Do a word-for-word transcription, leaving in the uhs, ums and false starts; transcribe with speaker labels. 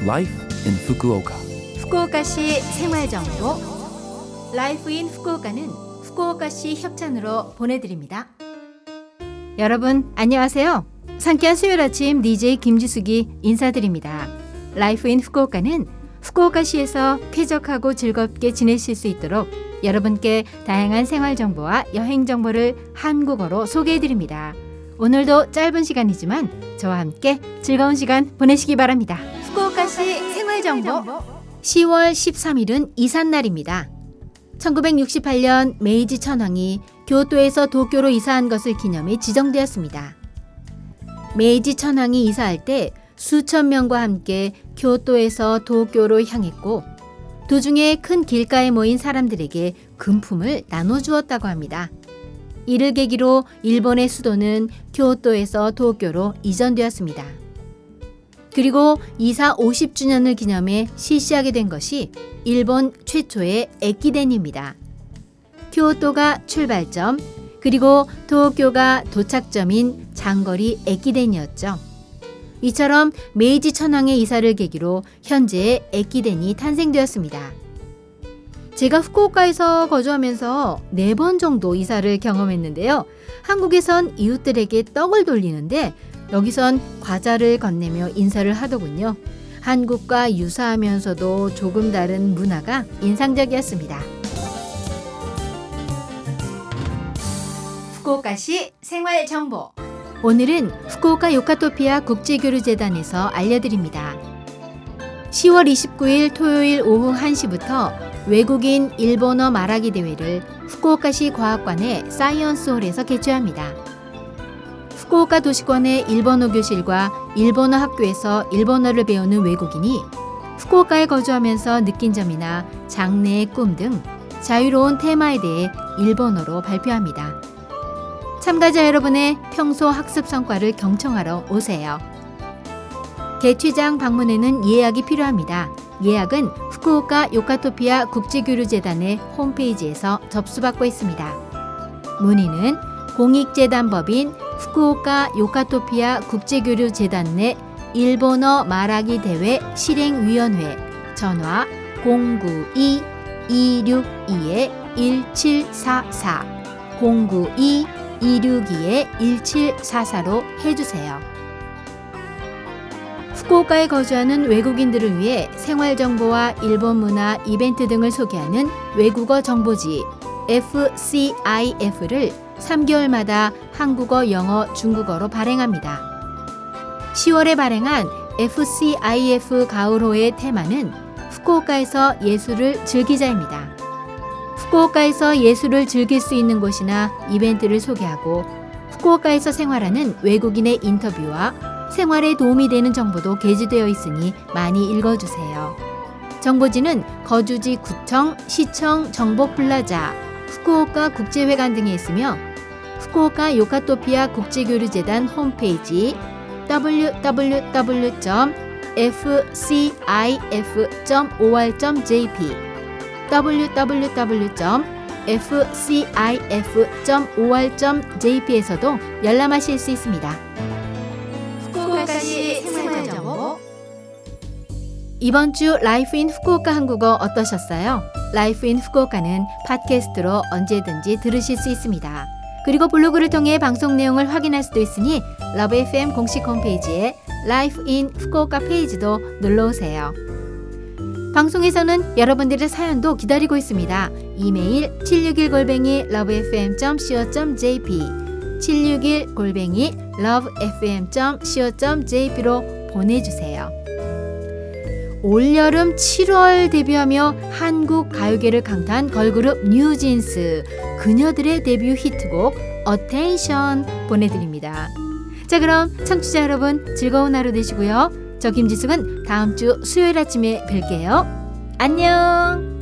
Speaker 1: Life in Fukuoka.
Speaker 2: 후쿠오카시 생활정보 라이프 인 후쿠오카는 후쿠오카시 협찬으로 보내드립니다. 여러분 안녕하세요. 상쾌한 수요일 아침 디제이 김지숙이 인사드립니다. 라이프 인 후쿠오카는 후쿠오카시에서 쾌적하고 즐겁게 지내실 수 있도록 여러분께 다양한 생활정보와 여행정보를 한국어로 소개해드립니다. 오늘도 짧은 시간이지만 저와 함께 즐거운 시간 보내시기 바랍니다. 후쿠오카시 생활정보 시월 십삼일은 이삿날입니다. 천구백육십팔 년 메이지 천황이 교토에서 도쿄로 이사한 것을 기념해 지정되었습니다. 메이지 천황이 이사할 때 수천 명과 함께 교토에서 도쿄로 향했고 도중에 큰 길가에 모인 사람들에게 금품을 나눠주었다고 합니다. 이를 계기로 일본의 수도는 교토에서 도쿄로 이전되었습니다. 그리고 이사 오십 주년을 기념해 실시하게 된 것이 일본 최초의 에키덴입니다. 교토가 출발점, 그리고 도쿄가 도착점인 장거리 에키덴이었죠. 이처럼 메이지 천황의 이사를 계기로 현재의 에키덴이 탄생되었습니다. 제가 후쿠오카에서 거주하면서 네 번 정도 이사를 경험했는데요. 한국에선 이웃들에게 떡을 돌리는데 여기선 과자를 건네며 인사를 하더군요. 한국과 유사하면서도 조금 다른 문화가 인상적이었습니다. 후쿠오카시 생활정보 오늘은 후쿠오카 요카토피아 국제교류재단에서 알려드립니다. 시월 이십구일 토요일 오후 한 시부터 외국인 일본어 말하기 대회를 후쿠오카시 과학관의 사이언스홀에서 개최합니다. 후쿠오카 도시권의 일본어 교실과 일본어 학교에서 일본어를 배우는 외국인이 후쿠오카에 거주하면서 느낀 점이나 장래의 꿈 등 자유로운 테마에 대해 일본어로 발표합니다. 참가자 여러분의 평소 학습 성과를 경청하러 오세요. 개최장 방문에는 예약이 필요합니다. 예약은 후쿠오카 요카토피아 국제교류재단의 홈페이지에서 접수받고 있습니다. 문의는 공익재단법인 후쿠오카 요카토피아 국제교류재단 내 일본어 말하기 대회 실행위원회 전화 공구이 이육이 일칠사사 공구이 이육이 일칠사사로 해주세요. 후쿠오카에 거주하는 외국인들을 위해 생활정보와 일본 문화, 이벤트 등을 소개하는 외국어 정보지 에프씨아이에프를 삼 개월마다 한국어, 영어, 중국어로 발행합니다. 시월에 발행한 에프씨아이에프 가을호의 테마는 후쿠오카에서 예술을 즐기자입니다. 후쿠오카에서 예술을 즐길 수 있는 곳이나 이벤트를 소개하고 후쿠오카에서 생활하는 외국인의 인터뷰와 생활에 도움이 되는 정보도 게재되어 있으니 많이 읽어주세요. 정보지는 거주지 구청, 시청, 정보플라자, 후쿠오카 국제회관 등에 있으며 후쿠오카 요카토피아 국제교류재단 홈페이지 더블유 더블유 더블유 점 에프씨아이에프 점 오알 점 제이피 더블유 더블유 더블유 점 에프씨아이에프 점 오알 점 제이피에서도 열람하실 수 있습니다. 후쿠오카시 생활정보 이번 주 라이프 인 후쿠오카 한국어 어떠셨어요? 라이프 인 후쿠오카는 팟캐스트로 언제든지 들으실 수 있습니다. 그리고 블로그를 통해 방송 내용을 확인할 수도 있으니 러브 에프엠 공식 홈페이지에 라이프 인 후쿠오카 페이지도 눌러오세요. 방송에서는 여러분들의 사연도 기다리고 있습니다. 이메일 칠육일 골뱅이 러브에프엠 점 씨오 점 제이피 칠육일 골뱅이 러브에프엠 점 씨오 점 제이피로 보내주세요. 올여름 칠월 데뷔하며 한국 가요계를 강타한 걸그룹 뉴진스 그녀들의 데뷔 히트곡 어텐션 보내드립니다. 자, 그럼 청취자 여러분 즐거운 하루 되시고요. 저 김지숙은 다음 주 수요일 아침에 뵐게요. 안녕.